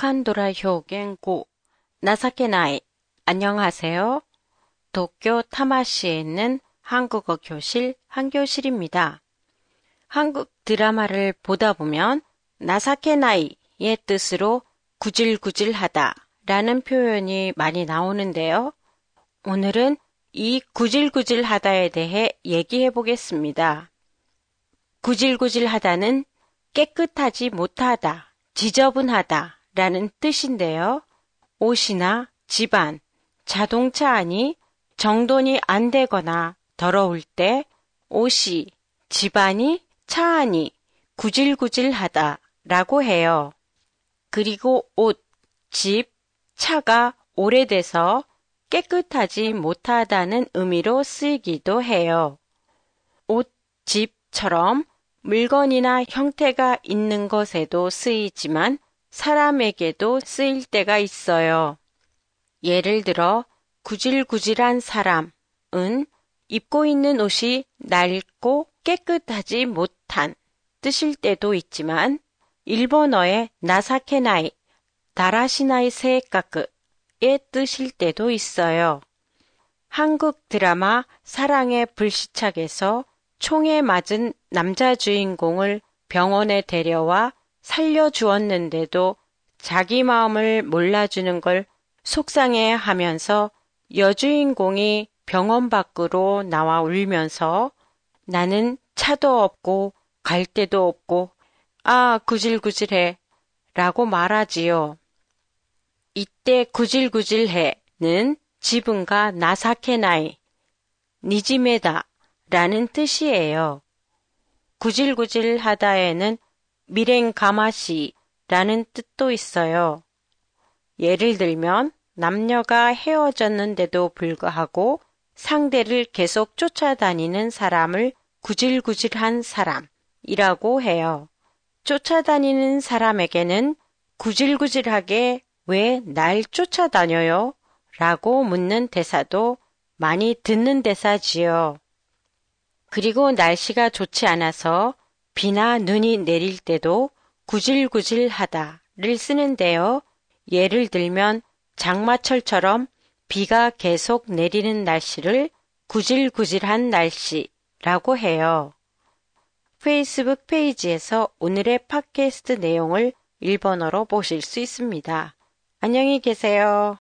북한ドラ 表現 5. 情けない. 안녕하세요. 도쿄 타마시에 있는 한국어 교실 한교실입니다. 한국 드라마를 보다 보면 나사케나이의 뜻으로 구질구질하다 라는 표현이 많이 나오는데요. 오늘은 이 구질구질하다에 대해 얘기해 보겠습니다. 구질구질하다는 깨끗하지 못하다, 지저분하다 라는 뜻인데요. 옷이나 집안, 자동차 안이 정돈이 안 되거나 더러울 때 옷이, 집안이, 차 안이 구질구질하다 라고 해요. 그리고 옷, 집, 차가 오래돼서 깨끗하지 못하다는 의미로 쓰이기도 해요. 옷, 집처럼 물건이나 형태가 있는 것에도 쓰이지만 사람에게도 쓰일 때가 있어요. 예를 들어 구질구질한 사람은 입고 있는 옷이 낡고 깨끗하지 못한 뜻일 때도 있지만 일본어의 나사케나이, 다라시나이 세이카쿠의 뜻일 때도 있어요. 한국 드라마 사랑의 불시착에서 총에 맞은 남자 주인공을 병원에 데려와 살려주었는데도 자기 마음을 몰라주는 걸 속상해하면서 여주인공이 병원 밖으로 나와 울면서 나는 차도 없고 갈 데도 없고 구질구질해 라고 말하지요. 이때 구질구질해는 지분가 나사케나이, 니지메다 라는 뜻이에요. 구질구질하다에는 미랭가마시라는 뜻도 있어요. 예를 들면 남녀가 헤어졌는데도 불구하고 상대를 계속 쫓아다니는 사람을 구질구질한 사람이라고 해요. 쫓아다니는 사람에게는 구질구질하게 왜 날 쫓아다녀요? 라고 묻는 대사도 많이 듣는 대사지요. 그리고 날씨가 좋지 않아서 비나 눈이 내릴 때도 구질구질하다를 쓰는데요. 예를 들면 장마철처럼 비가 계속 내리는 날씨를 구질구질한 날씨라고 해요. 페이스북 페이지에서 오늘의 팟캐스트 내용을 일본어로 보실 수 있습니다. 안녕히 계세요.